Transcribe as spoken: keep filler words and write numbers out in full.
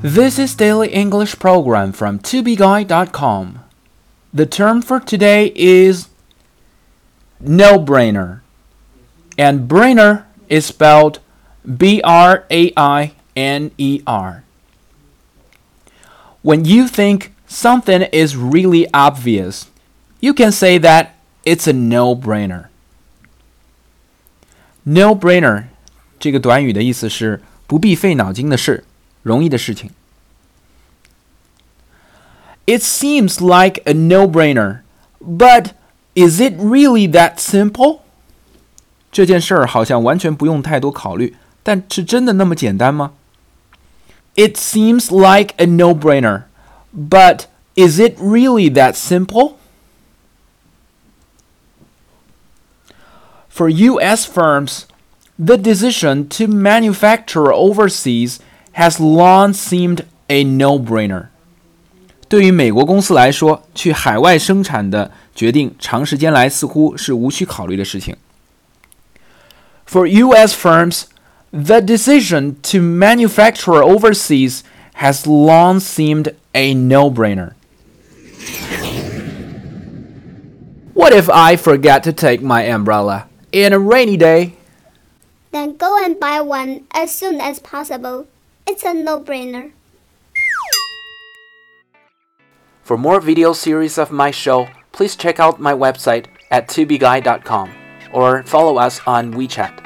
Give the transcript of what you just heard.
This is Daily English Program from to be guide dot com. The term for today is no-brainer. And brainer is spelled B R A I N E R. When you think something is really obvious, you can say that it's a no-brainer. No-brainer 这个短语的意思是不必费脑筋的事，容易的事情。It seems like a no-brainer, but is it really that simple? 这件事儿好像完全不用太多考虑，但是真的那么简单吗？ It seems like a no-brainer, but is it really that simple? For U S firms, the decision to manufacture overseas has long seemed a no-brainer. 对于美国公司来说，去海外生产的决定长时间来似乎是无需考虑的事情。For U S firms, the decision to manufacture overseas has long seemed a no-brainer. What if I forget to take my umbrella in a rainy day? Then go and buy one as soon as possible. It's a no-brainer. For more video series of my show, please check out my website at to be guide dot com or follow us on WeChat.